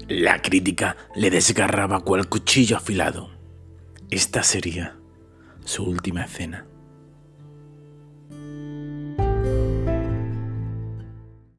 La crítica le desgarraba cual cuchillo afilado. Esta sería su última escena.